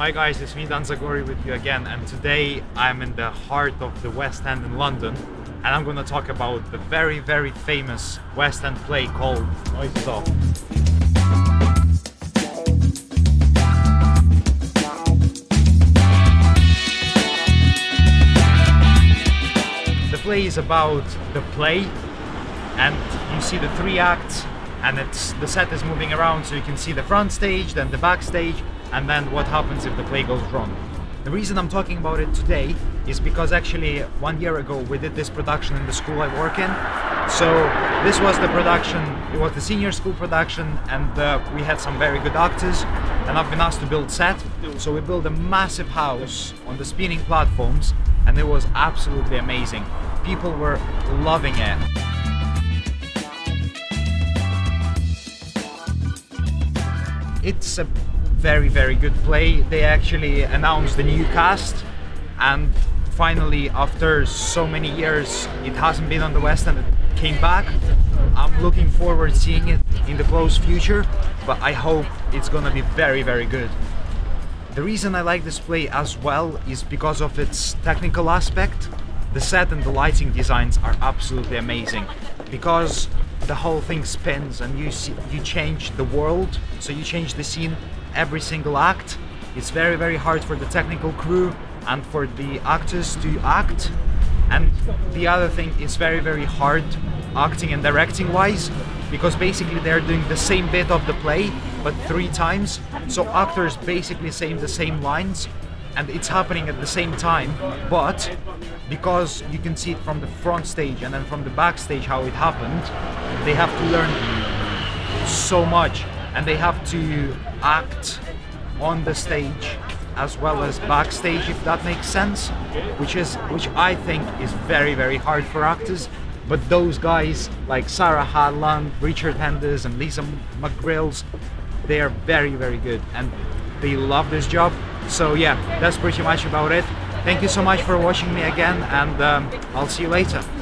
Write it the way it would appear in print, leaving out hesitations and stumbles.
Hi guys, it's me Dan Zagori with you again, and today I'm in the heart of the West End in London, and I'm gonna talk about the very, very famous West End play called Noises Off. The play is about the play, and you see the three acts, and the set is moving around, so you can see the front stage, then the backstage, and then what happens if the play goes wrong. The reason I'm talking about it today is because actually 1 year ago we did this production in the school I work in. So this was the production, it was the senior school production, and we had some very good actors, and I've been asked to build set. So we built a massive house on the spinning platforms, and it was absolutely amazing. People were loving it. It's a very, very good play. They actually announced the new cast, and finally, after so many years, it hasn't been on the West End, it came back. I'm looking forward to seeing it in the close future, but I hope it's gonna be very, very good. The reason I like this play as well is because of its technical aspect. The set and the lighting designs are absolutely amazing, because the whole thing spins and you change the world, so you change the scene every single act. It's very, very hard for the technical crew and for the actors to act. And the other thing is very, very hard acting and directing wise, because basically they're doing the same bit of the play but 3 times. So actors basically saying the same lines and it's happening at the same time, but because you can see it from the front stage and then from the backstage how it happened, they have to learn so much, and they have to act on the stage as well as backstage, if that makes sense, which I think is very, very hard for actors. But those guys like Sarah Hadland, Richard Henders and Lisa McGrills, they are very, very good and they love this job. So yeah, that's pretty much about it. Thank you so much for watching me again, and I'll see you later.